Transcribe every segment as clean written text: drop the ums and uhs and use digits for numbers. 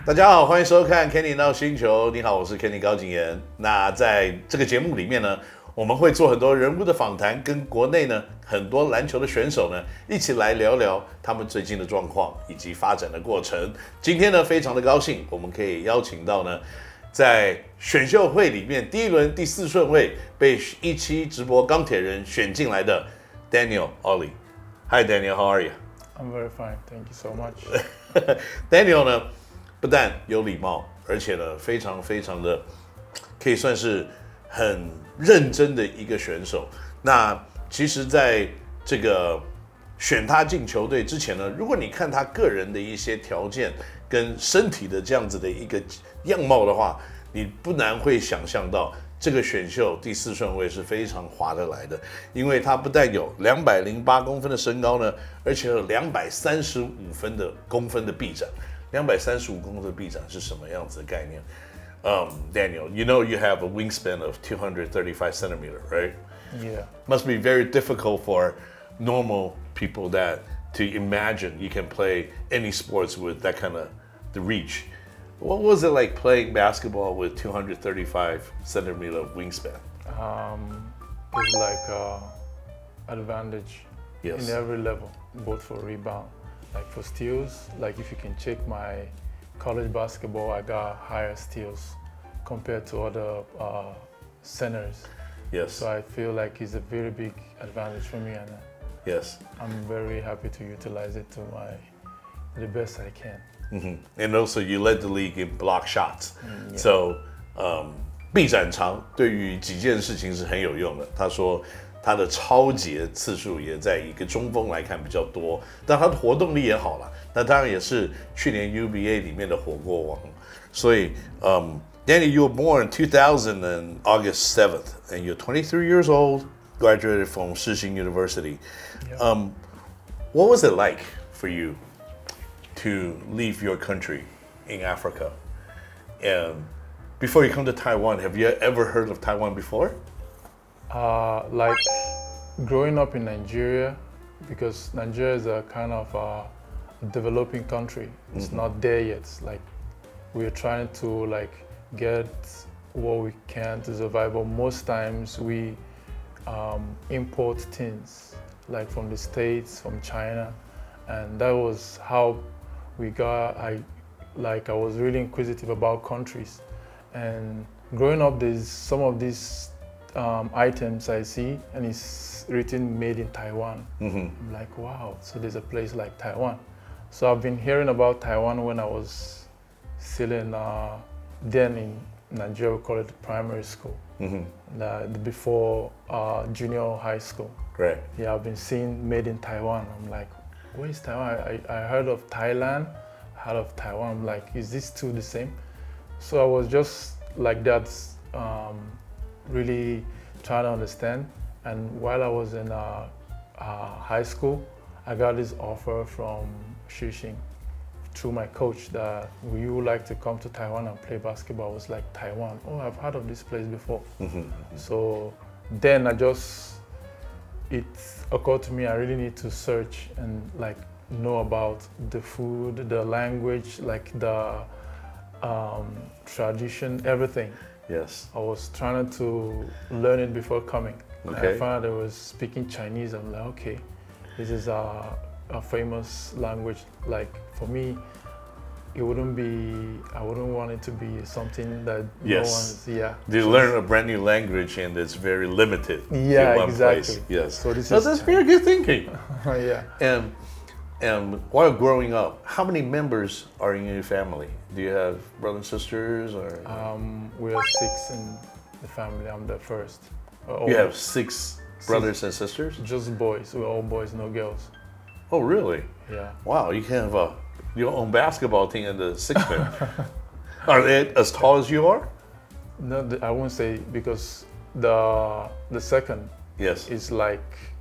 大家好，歡迎收看 Kenny 鬧星球。你好，我是 Kenny 高景言。那在這個節目裡面呢，我們會做很多人物的訪談，跟國內呢很多籃球的選手呢一起來聊聊他們最近的狀況以及發展的過程。今天呢，非常的高興，我們可以邀請到呢，在選秀會裡面第一輪第4順位被17直播鋼鐵人選進來的 Daniel Ollie。Hi Daniel, how are you? I'm very fine, thank you so much. Daniel 呢，不但有禮貌，而且呢，非常的可以算是很認真的一個選手。那其實在這個選他進球隊之前呢，如果你看他個人的一些條件跟身體的這樣子的一個樣貌的話，你不難會想象到這個選秀第4順位是非常划得來的，因為他不但有208公分的身高呢，而且有235公分的臂展。235公分的臂展是什麼樣子的概念？Daniel, you know you have a wingspan of 235 centimeter, right? Yeah. Must be very difficult for normal people to imagine you can play any sports with that kind of the reach. What was it like playing basketball with 235 centimeter of wingspan? It's like advantage Yes. in every level, both for rebound, like for steals. Like if you can check my college basketball, I got higher steals compared to other centers. Yes. So I feel like it's a very big advantage for me, and Yes. I'm very happy to utilize it to the best I can. Mm-hmm. And also you led the league in block shots. Yeah. So 臂展長對於幾件事情是很有用的。他說他的抄截次數也在一個中鋒來看比較多，但他的活動力也好了。那當然也是去年 UBA 裡面的火鍋王。所以Danny, you were born in 2000 on August 7th, and you're 23 years old, graduated from Shishing University. Yeah. What was it like for you to leave your country in Africa? And before you come to Taiwan, have you ever heard of Taiwan before? Like growing up in Nigeria, because Nigeria is a kind of developing country. It's not there yet. Like we're trying to like get what we can to survive, but most times we import things like from the States, from China, and that was how we got. I was really inquisitive about countries, and growing up, there's some of these items I see, and it's written "Made in Taiwan." I'm like, wow! So there's a place like Taiwan. So I've been hearing about Taiwan when I was still in then in Nigeria, we call it primary school. Before junior high school. Right. Yeah, I've been seeing "Made in Taiwan." I'm like, where is Taiwan? I heard of Thailand, heard of Taiwan. I'm like, is this two the same? So I was just like that, really trying to understand. And while I was in high school, I got this offer from Shishing through my coach that would you like to come to Taiwan and play basketball? I was like, Taiwan? Oh, I've heard of this place before. So then it occurred to me I really need to search and like know about the food, the language, like the tradition, everything. Yes. I was trying to learn it before coming. Okay. I found out I was speaking Chinese. I'm like, okay, this is a famous language. Like for me, I wouldn't want it to be something that Yes. no one's, yeah. You learn a brand new language and it's very limited Yeah, in one exactly. place. Yes. So this that's very good thinking. Yeah. And while growing up, how many members are in your family? Do you have brothers and sisters or? We are 6 in the family. I'm the first. You have 6 brothers and sisters? Just boys. We're all boys, no girls. Oh, really? Yeah. Wow, you can have your own basketball team in the 6th man. Are they as tall as you are? No, I won't say, because the second Yes. is like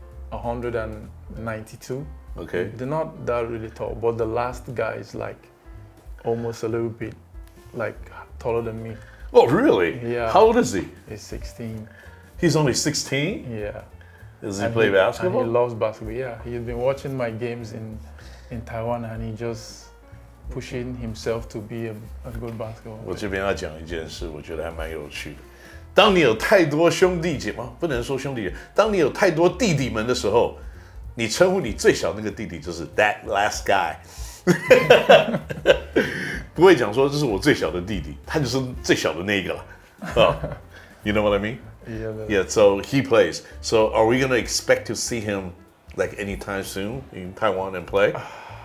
192. Okay. They're not that really tall, but the last guy is like almost a little bit like taller than me. Oh, really? Yeah. How old is he? He's 16. He's only 16? Yeah. Does he play basketball? And he loves basketball. Yeah. He's been watching my games in Taiwan, and pushing himself to be a good basketball player. 我这边要讲一件事，我觉得还蛮有趣的。当你有太多兄弟姐妹，不能说兄弟，当你有太多弟弟们的时候，你称呼你最小那个弟弟就是 that last guy， 不会講說這是我最小的弟弟，他就是最小的那一個了。You know what I mean? Yeah. So he plays. So are we gonna expect to see him like anytime soon in Taiwan and play?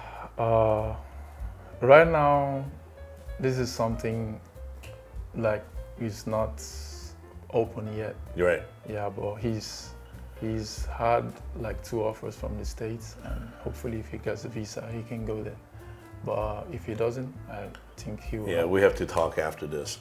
Right now, this is something like it's not open yet. You're right. Yeah, but he's had like 2 offers from the States, and hopefully if he gets a visa, he can go there. But if he doesn't, I think he will. Yeah, we have to talk after this.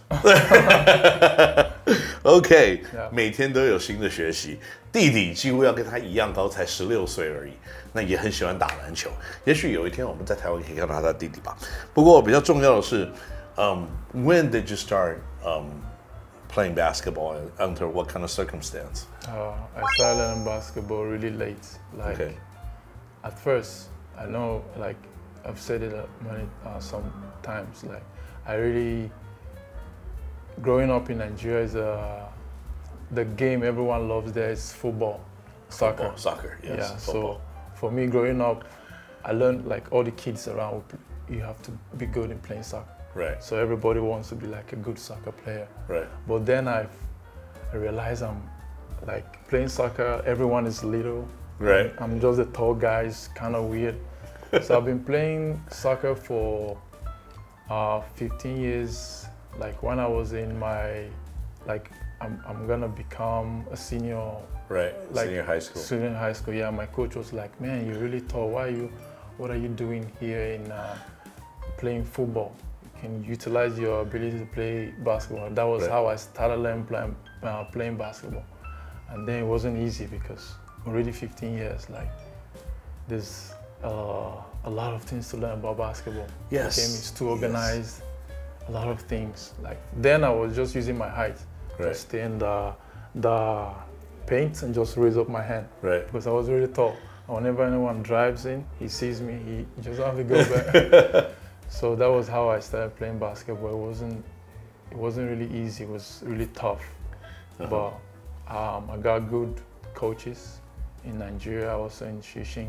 OK， 每天都有新的學習。弟弟幾乎要跟他一樣高，才16歲而已。那也很喜歡打籃球。也許有一天我們在台灣可以看到他的弟弟吧。不過比較重要的是，when did you start playing basketball and under what kind of circumstance? I started learning basketball really late. Like at first, I know like I've said it many sometimes. Like I really, growing up in Nigeria is the game everyone loves there is football, soccer. Soccer, yes. Yeah. Football. So for me, growing up, I learned like all the kids around. You have to be good in playing soccer. Right. So everybody wants to be like a good soccer player. Right. But then I realized I'm like playing soccer. Everyone is little. Right. I'm just a tall guy. It's kind of weird. So I've been playing soccer for 15 years. Like when I was in my, like I'm gonna become a senior. Right. Like senior high school. Senior high school. Yeah. My coach was like, "Man, you're really tall. What are you doing here in playing football? You can utilize your ability to play basketball." That was how I started learning playing basketball. And then it wasn't easy because already 15 years, like there's a lot of things to learn about basketball. Yes. The game is too organized. A lot of things. Like then I was just using my height to stay in the paint and just raise up my hand. Right. Because I was really tall. Whenever anyone drives in, he sees me, he just have to go back. So that was how I started playing basketball. It wasn't really easy. It was really tough. But I got good coaches in Nigeria, also in Shishing.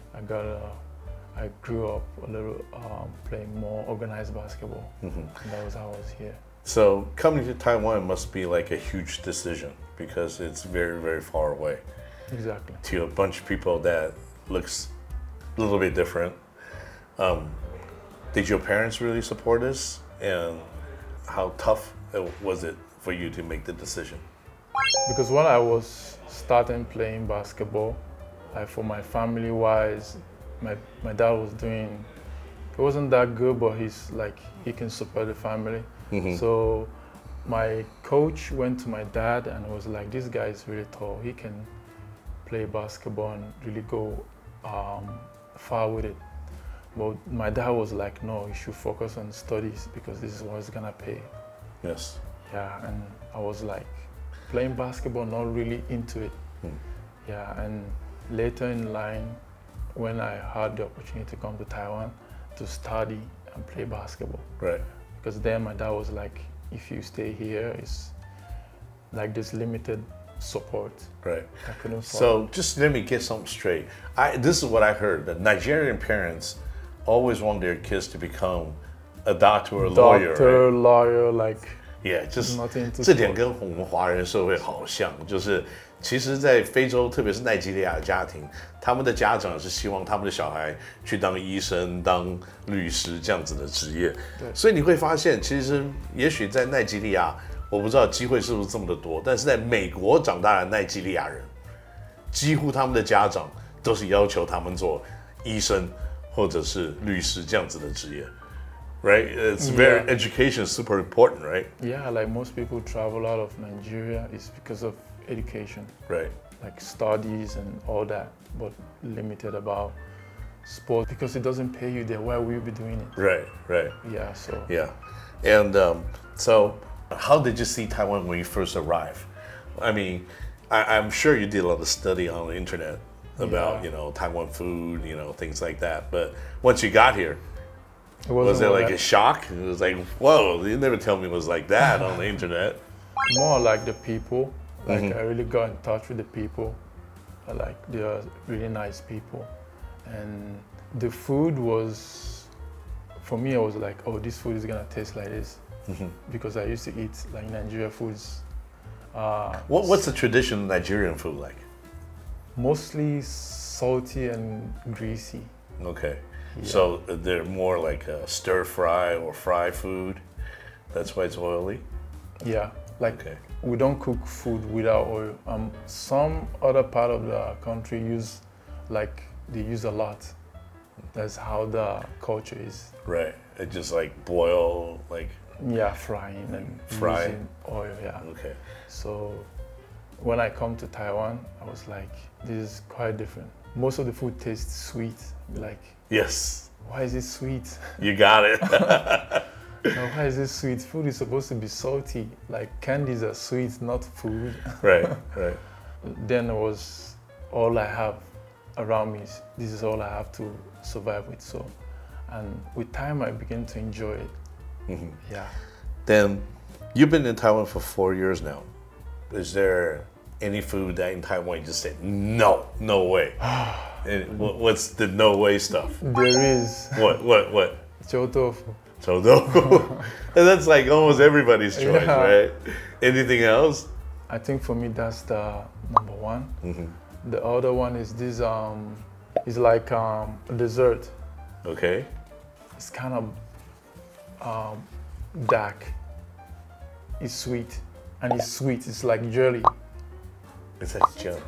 I grew up a little playing more organized basketball. And that was how I was here. So coming to Taiwan must be like a huge decision because it's very, very far away. Exactly. To a bunch of people that looks a little bit different. Did your parents really support this? And how tough was it for you to make the decision? Because when I was starting playing basketball, for my family wise, my dad was doing, he wasn't that good, but he can support the family. So my coach went to my dad and was like, "This guy is really tall. He can play basketball and really go far with it." But my dad was like, "No, you should focus on studies because this is what's gonna pay." Yes. Yeah, and I was like playing basketball, not really into it. Yeah, and later in line, when I had the opportunity to come to Taiwan to study and play basketball. Right. Because then my dad was like, "If you stay here, it's like this limited support." Right. I couldn't So just let me get something straight. This is what I heard, that Nigerian parents always want their kids to become a doctor or a lawyer. Doctor, lawyer, like Yeah, just nothing to 这點跟我們華人社會好像，就是其實，在非洲，特別是奈及利亞的家庭，他們的家長是希望他們的小孩去當醫生、當律師這樣子的職業。 對， 所以你會發現，其實也許在奈及利亞，我不知道機會是不是這麼的多，但是在美國長大的奈及利亞人，幾乎他們的家長都是要求他們做醫生或者是律師這樣子的職業。Right? It's very education is super important, right? Yeah, like most people travel out of Nigeria is because of education. Right. Like studies and all that, but limited about sport because it doesn't pay you there. Why will you be doing it? Right, right. Yeah, so. Yeah. And so how did you see Taiwan when you first arrived? I mean, I'm sure you did a lot of study on the internet about, Taiwan food, things like that. But once you got here, Was it like a shock? It was like, whoa, you never tell me it was like that on the internet. More like the people. Like I really got in touch with the people. Like they are really nice people. And the food was, for me, I was like, oh, this food is gonna taste like this. Because I used to eat like Nigerian foods. What's the traditional Nigerian food like? Mostly salty and greasy. Okay. Yeah. So they're more like a stir fry or fry food. That's why it's oily? Yeah. Like we don't cook food without oil. Some other part of the country they use a lot. That's how the culture is. Right. It just like boil, like. Yeah, frying and using oil. Yeah. Okay. So when I come to Taiwan, I was like, this is quite different. Most of the food tastes sweet. Like. Yes. Why is it sweet? You got it. Now, why is this sweet? Food is supposed to be salty. Like candies are sweet, not food. Right. Then it was all I have around me. This is all I have to survive with. So, and with time, I began to enjoy it. Yeah. Then, you've been in Taiwan for 4 years now. Is there any food that in Taiwan you just say no way? And what's the no way stuff? There is. What? Chou tofu. Chou tofu. And that's like almost everybody's choice, right? Anything else? I think for me that's the number one. The other one is this. It's like a dessert. Okay. It's kind of dark. It's sweet, and it's sweet. It's like jelly. It's like jelly.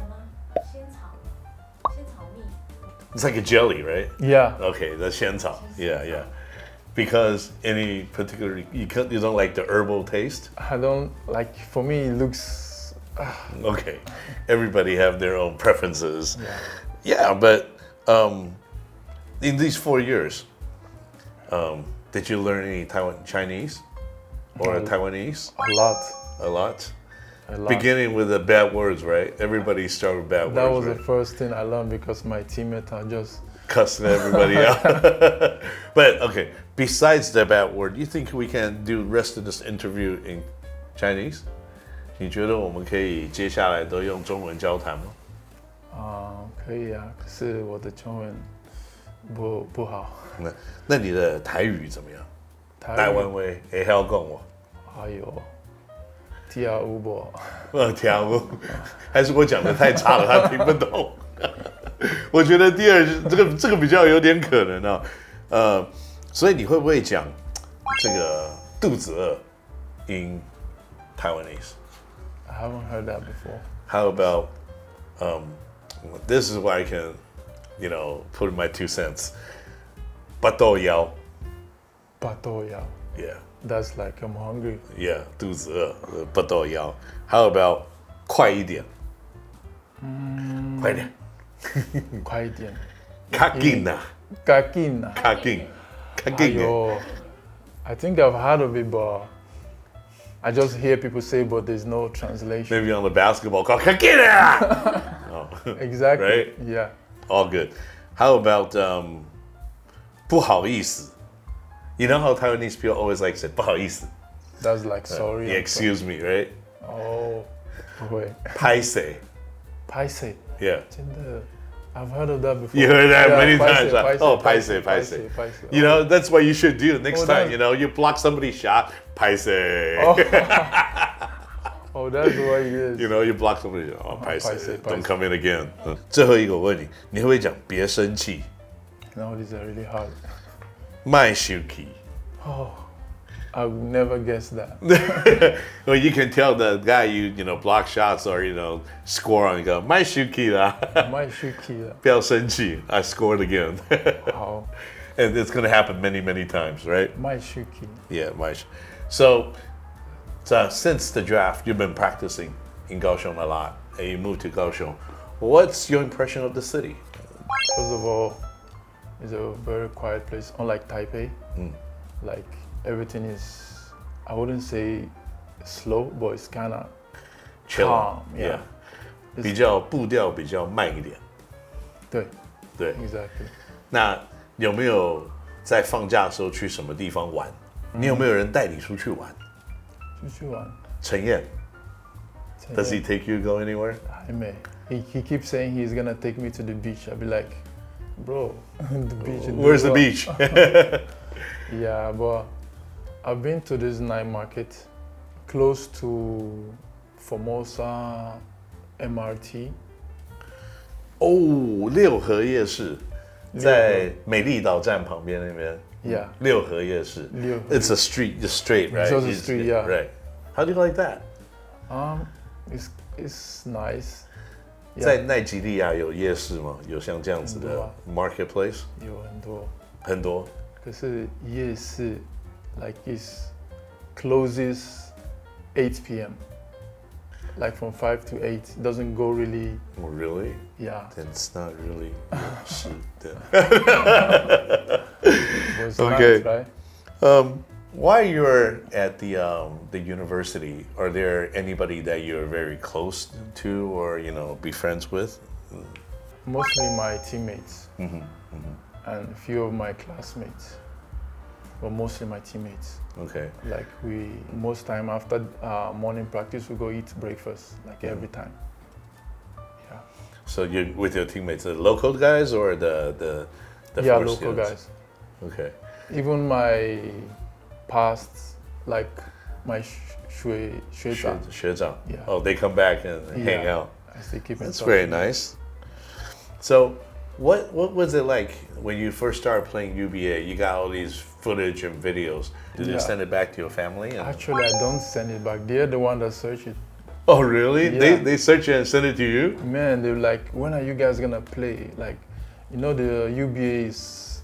It's like a jelly, right? Yeah. Okay, that's xiancao. Yeah. Because any particular, you don't like the herbal taste? I don't like, for me it looks... Okay, everybody have their own preferences. Yeah, but in these 4 years, did you learn any Chinese or Taiwanese? A lot. Beginning with the bad words, right? Everybody started with bad words. That was the first thing I learned because my teammates are just cussing everybody out. But okay, besides the bad word, do you think we can do the rest of this interview in Chinese? 你觉得我们可以接下来都用中文交谈吗？ 可以啊，可是我的中文不好。 那你的台語怎麼樣？台灣話會曉講喎？ 哎呦。聽有無？ 聽有，還是我講的太差了，他聽不懂。我覺得第二這個比較有點可能啊，所以你會不會講這個肚子餓 in Taiwanese? I haven't heard that before. How about this is where I can, put in my 2 cents. 巴豆腰. Yeah. That's like I'm hungry. Yeah, 肚子餓，巴豆腰。How about 快一點？快點。 快一點。 較緊啊。 較緊啊。 較緊。 I think I've heard of it, but I just hear people say, but there's no translation. Maybe on the basketball court,較緊啊。 Exactly. Right? Yeah. All good. How about 不好意思？You know how Taiwanese people always like say 不好意思? That's like sorry. Yeah, excuse me, right? Oh, wait. 拍謝. Yeah. 真的, I've heard of that before. You heard that many times. Oh, 拍謝. You know, that's what you should do next time. You block somebody's shot, 拍謝. Oh, that's what it is. You block somebody's shot, oh, 拍謝. Don't come in again. 最後一個我問你，你會不會講別生氣? No, these are really hard. 賣生氣. Oh, I would never guess that. Well, you can tell the guy you block shots or score on. You go 賣生氣啦. 賣生氣啦. 不要生氣. I scored again. Wow. And it's going to happen many, many times, right? 賣生氣. Yeah, So, since the draft, you've been practicing in Kaohsiung a lot, and you moved to Kaohsiung. What's your impression of the city? First of all, it's a very quiet place, unlike Taipei. Like everything is, I wouldn't say slow, but it's kind of calm. Yeah. 比較步調比較慢一點。 對對 Exactly. 那有沒有在放假的時候去什麼地方玩？你有沒有人帶你出去玩？ 出去玩。 陳彥 Does he take you go anywhere? I may. He keeps saying he's gonna take me to the beach. I'll be like, bro, the beach. Where's the beach? Yeah, but I've been to this night market close to Formosa MRT. 哦，六合夜市，在美麗島站旁邊那邊。 Yeah. 六合夜市。It's a street, just straight, right? It's just a street, yeah. Right. How do you like that? It's nice. 在奈及利亞有夜市嗎？有像這樣子的 marketplace？ 有很多。 很多。 可是夜市 like it closes 8 p.m. Like from 5 to 8, it doesn't go really. Oh, really? Yeah. Then it's not really. Okay. Nice, right? While you're at the university, are there anybody that you're very close to or be friends with? Mostly my teammates and a few of my classmates, but mostly my teammates. Okay. Like most time after morning practice, we go eat breakfast, like every time. Yeah. So you're with your teammates, the local guys or the yeah, local guys. Okay. Even my past, like my 学长. Yeah. Oh, they come back and hang out. I still keep in touch. That's very nice. So, what was it like when you first started playing UBA? You got all these footage and videos. Did you send it back to your family? Actually, I don't send it back. They're the one that search it. Oh, really? Yeah. They search it and send it to you? Man, they're like, when are you guys gonna play? Like, the UBA is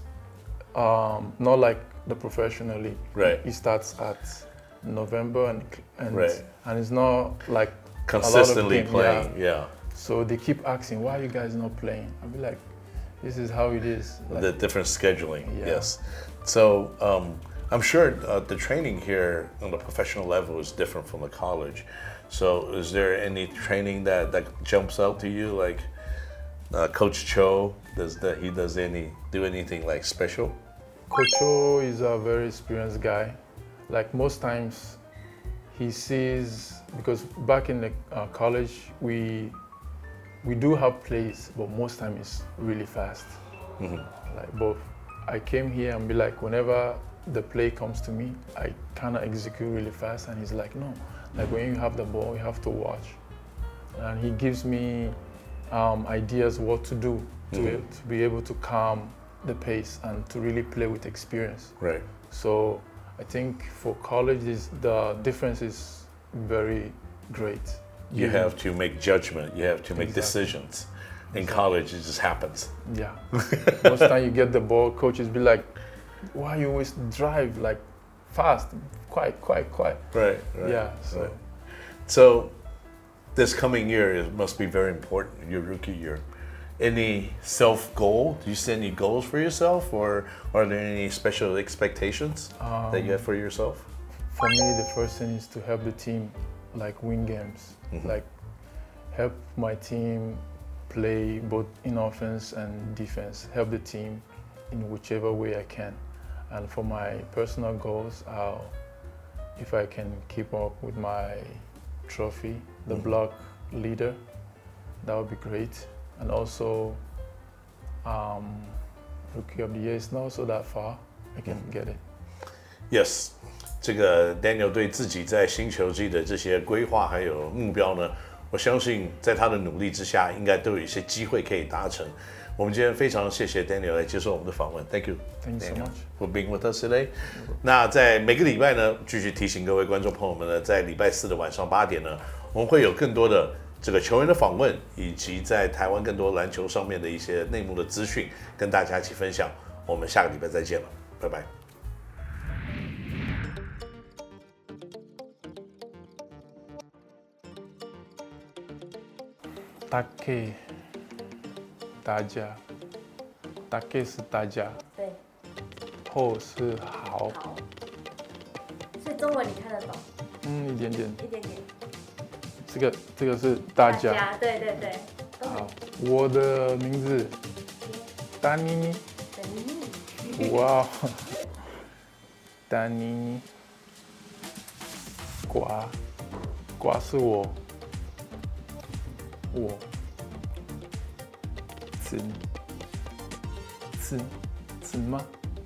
not like the professional league. Right. It starts at November and right. And it's not like consistently playing. Yeah. So they keep asking, why are you guys not playing? I'll be like, this is how it is. Like, the different scheduling. Yeah. Yes. So I'm sure the training here on the professional level is different from the college. So is there any training that jumps out to you, like Coach Cho? He do anything like special? Coach Cho is a very experienced guy. Like most times, he sees, because back in the college we do have plays, but most time it's really fast. Like both. I came here and be like, whenever the play comes to me, I kind of execute really fast, and he's like, no. Like when you have the ball, you have to watch. And he gives me ideas what to do to be able to calm the pace and to really play with experience. Right. So I think for college, the difference is very great. You have to make judgment. You have to make decisions. In college, it just happens. Yeah. Most time you get the ball, coaches be like, why you always drive like fast, quiet. Right. Yeah. So this coming year, it must be very important, your rookie year. Any self-goal? Do you set any goals for yourself, or are there any special expectations that you have for yourself? For me, the first thing is to help the team like win games, like help my team play both in offense and defense, help the team in whichever way I can. And for my personal goals, if I can keep up with my trophy, the block leader, that would be great. And also, Rookie of the Year is not so that far. I can get it. Yes. 这个 Daniel 对自己在新球季的这些規劃還有目標呢，我相信在他的努力之下，應該都有一些機會可以達成。我們今天非常謝謝 Daniel 來接受我們的訪問 ，Thank you, Thank you so much for being with us today. 那在每個禮拜呢，繼續提醒各位觀眾朋友們呢，在禮拜四的晚上8點呢，我們會有更多的這個球員的訪問，以及在台灣更多籃球上面的一些內幕的資訊，跟大家一起分享。我們下個禮拜再見了，拜拜。 Take 大家 ，Take 是大家， 对， 后是好， 好，所以中文你看得懂？ 一点点， 一点点。 这个是大家， 对对对， 好，我的名字，丹妮妮。 等你。 哇，丹尼，瓜是我，子吗？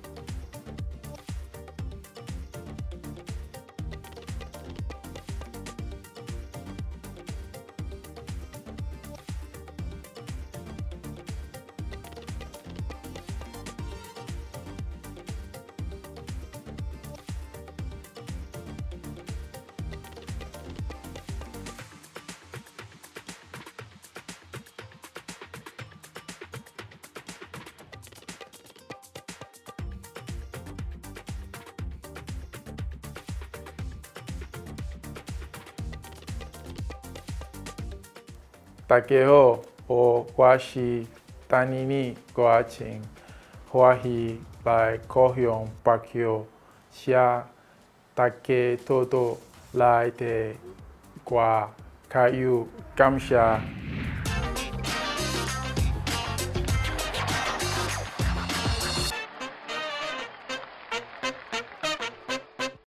大家好，我是丹尼尼郭晴，歡喜來高雄北橋，謝大家多多來的歌，加油，感謝。